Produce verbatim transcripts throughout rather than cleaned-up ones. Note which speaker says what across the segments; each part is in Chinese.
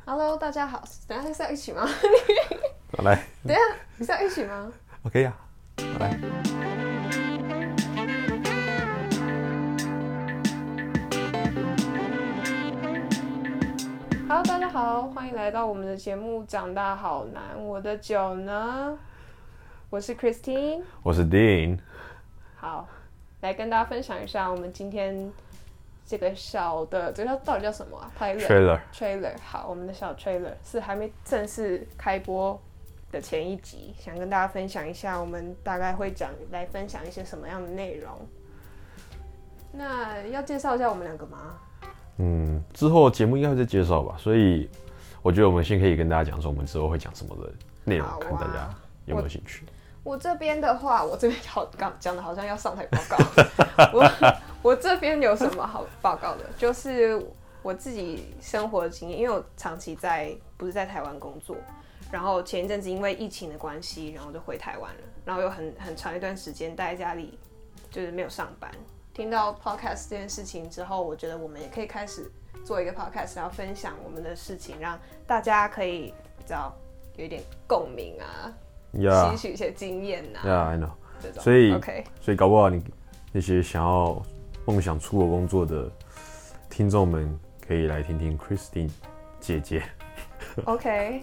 Speaker 1: Hello， 大家好。等一下是要一起吗？
Speaker 2: 好来。
Speaker 1: 等一下是要一起吗
Speaker 2: ？OK 呀、啊，好来。
Speaker 1: Hello， 大家好，欢迎来到我们的节目《长大好难》。我的酒呢？我是 Christine，
Speaker 2: 我是 Dean。
Speaker 1: 好，来跟大家分享一下我们今天这个小的，这个到底叫什么啊
Speaker 2: ？Trailer。
Speaker 1: Trailer。好，我们的小 Trailer 是还没正式开播的前一集，想跟大家分享一下，我们大概会讲来分享一些什么样的内容。那要介绍一下我们两个吗？
Speaker 2: 嗯，之后节目应该会再介绍吧，所以我觉得我们先可以跟大家讲说我们之后会讲什么的内容，啊、看大家有没有兴趣。
Speaker 1: 我, 我这边的话，我这边好讲的好像要上台报告。我我这边有什么好报告的？就是我自己生活的经验，因为我长期在不是在台湾工作，然后前一阵子因为疫情的关系，然后就回台湾了，然后有很很长一段时间待在家里，就是没有上班。听到 podcast 这件事情之后，我觉得我们也可以开始做一个 podcast， 然后分享我们的事情，让大家可以知道有一点共鸣啊，吸、yeah. 取一些经验啊。
Speaker 2: Yeah, I know。
Speaker 1: 这种
Speaker 2: 所以，
Speaker 1: okay.
Speaker 2: 所以搞不好你那些想要梦想出国工作的听众们，可以来听听 Christine 姐姐。
Speaker 1: OK。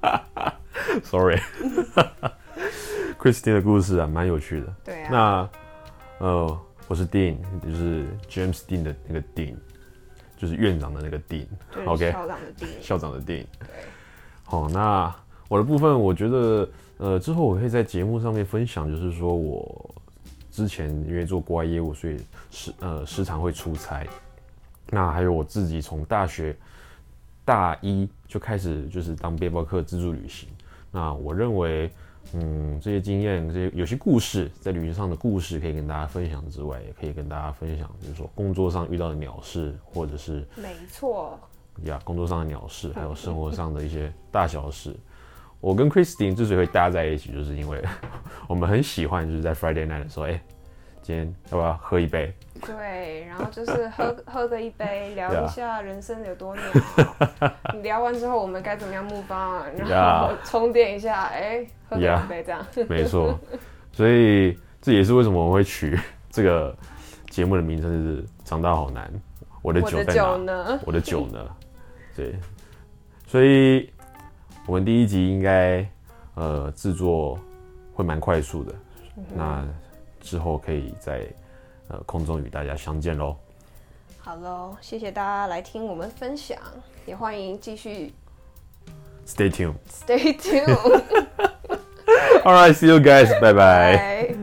Speaker 2: Sorry。Christine 的故事啊，蛮有趣的。
Speaker 1: 对啊。
Speaker 2: 那，呃。我是 Dean， 就是 James Dean 的那个 Dean， 就是院长的那个 Dean。OK，
Speaker 1: 校长的 Dean。
Speaker 2: 校长的 Dean。
Speaker 1: 对。
Speaker 2: 好，那我的部分，我觉得，呃，之后我会在节目上面分享，就是说我之前因为做国外业务，所以时呃时常会出差。那还有我自己从大学大一就开始就是当背包客自助旅行。那我认为。嗯，这些经验，这些有些故事，在旅行上的故事，可以跟大家分享之外，也可以跟大家分享，就是说工作上遇到的鸟事，或者是
Speaker 1: 没错
Speaker 2: 呀，工作上的鸟事，还有生活上的一些大小事。我跟 Christine 之所以会搭在一起，就是因为我们很喜欢，就是在 Friday night 的时候，哎、欸，今天要不要喝一杯？
Speaker 1: 对，然后就是喝喝个一杯，聊一下人生有多鸟。你聊完之后，我们该怎么样move on，然后充电一下，哎、欸，喝个两杯这样。
Speaker 2: 没错，所以这也是为什么我们会取这个节目的名称是“长大好难”。我的酒在哪？
Speaker 1: 我的酒呢？
Speaker 2: 我的酒呢？对，所以我们第一集应该呃制作会蛮快速的，嗯、那之后可以在。呃，空中与大家相见喽！
Speaker 1: 好喽，谢谢大家来听我们分享，也欢迎继续
Speaker 2: Stay tuned.
Speaker 1: Stay tuned.
Speaker 2: All right, see you guys. Bye bye.